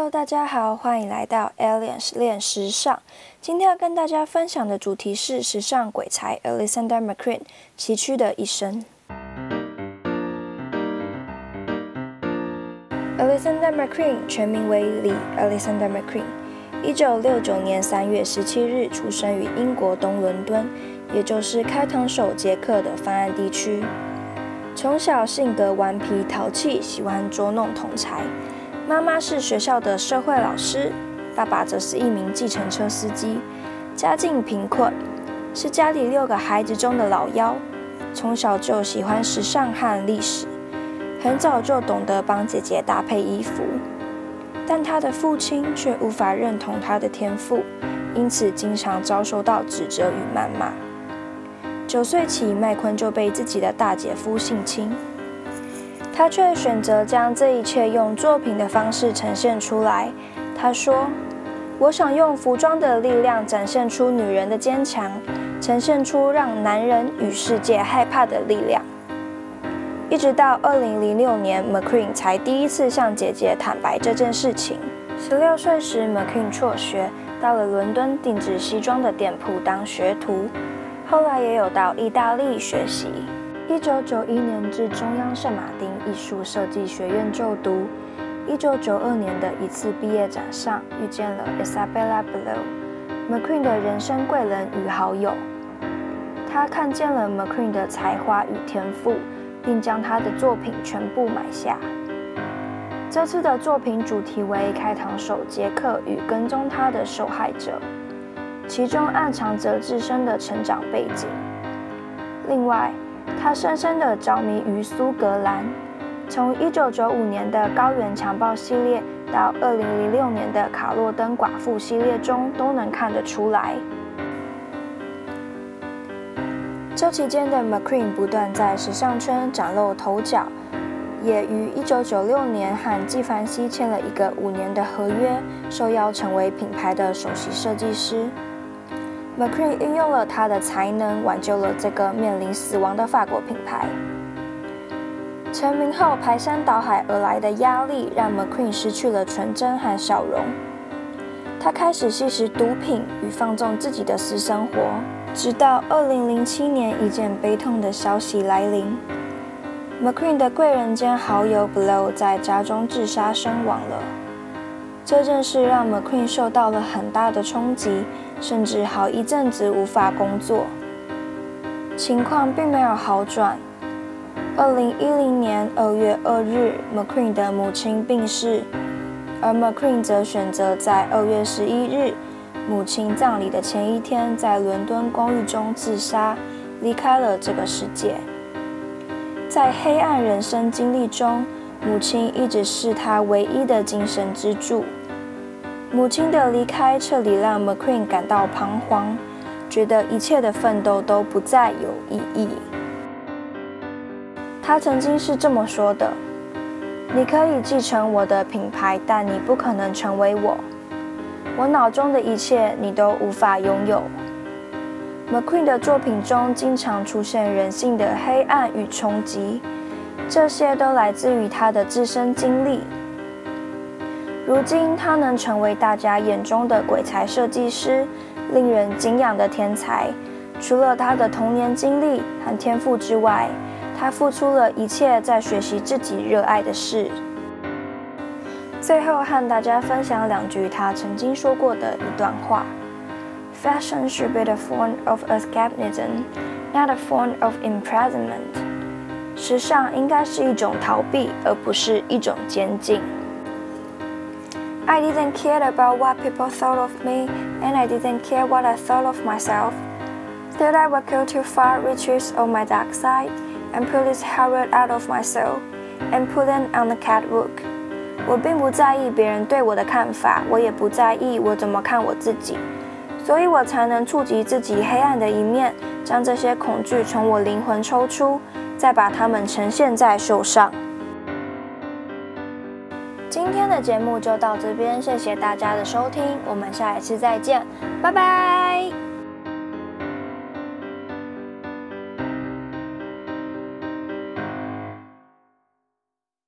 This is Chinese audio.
Hello， 大家好，欢迎来到 Aliens 练时尚。今天要跟大家分享的主题是时尚鬼才 Alexander McQueen 崎岖的一生。Alexander McQueen 全名为李 Alexander McQueen，1969年3月17日出生于英国东伦敦，也就是开膛手杰克的犯案地区。从小性格顽皮淘气，喜欢捉弄同儕。妈妈是学校的社会老师，爸爸则是一名计程车司机，家境贫困，是家里6个孩子中的老幺。从小就喜欢时尚和历史，很早就懂得帮姐姐搭配衣服，但他的父亲却无法认同他的天赋，因此经常遭受到指责与谩骂。9岁起，麦昆就被自己的大姐夫性侵。他却选择将这一切用作品的方式呈现出来。他说：“我想用服装的力量展现出女人的坚强，呈现出让男人与世界害怕的力量。”一直到2006年 ，McQueen 才第一次向姐姐坦白这件事情。16岁时 ，McQueen 辍学，到了伦敦定制西装的店铺当学徒，后来也有到意大利学习。1991年至中央圣马丁艺术设计学院就读。1992年的一次毕业展上，遇见了 Isabella Below，McQueen 的人生贵人与好友。他看见了 McQueen 的才华与天赋，并将他的作品全部买下。这次的作品主题为开膛手杰克与跟踪他的受害者，其中暗藏着自身的成长背景。另外，他深深地着迷于苏格兰，从1995年的高原强暴系列到2006年的卡洛登寡妇系列中都能看得出来。这期间的 McQueen 不断在时尚圈崭露头角，也于1996年和纪梵希签了一个5年的合约，受邀成为品牌的首席设计师。McQueen 运用了他的才能，挽救了这个面临死亡的法国品牌。成名后排山倒海而来的压力，让 McQueen 失去了纯真和笑容。他开始吸食毒品与放纵自己的私生活，直到2007年一件悲痛的消息来临 ：McQueen 的贵人兼好友 Blow 在家中自杀身亡了。这件事让 McQueen 受到了很大的冲击，甚至好一阵子无法工作。情况并没有好转。2010年2月2日 ，McQueen 的母亲病逝，而 McQueen 则选择在2月11日，母亲葬礼的前一天，在伦敦公寓中自杀，离开了这个世界。在黑暗人生经历中，母亲一直是他唯一的精神支柱。母亲的离开彻底让 McQueen 感到彷徨，觉得一切的奋斗都不再有意义。他曾经是这么说的：“你可以继承我的品牌，但你不可能成为我。我脑中的一切，你都无法拥有。” McQueen 的作品中经常出现人性的黑暗与冲击，这些都来自于他的自身经历。如今，他能成为大家眼中的鬼才设计师，令人敬仰的天才。除了他的童年经历和天赋之外，他付出了一切在学习自己热爱的事。最后和大家分享2句他曾经说过的一段话 ：“Fashion should be a form of escapism, not a form of imprisonment。”时尚应该是一种逃避，而不是一种监禁。I didn't care about what people thought of me, and I didn't care what I thought of myself. Did I would go too far reaches of my dark side, and pull this horror out of my soul, and put it on the catwalk. 我并不在意别人对我的看法，我也不在意我怎么看我自己，所以我才能触及自己黑暗的一面，将这些恐惧从我灵魂抽出，再把它们呈现在秀上。今天的节目就到这边，谢谢大家的收听，我们下一次再见，拜拜。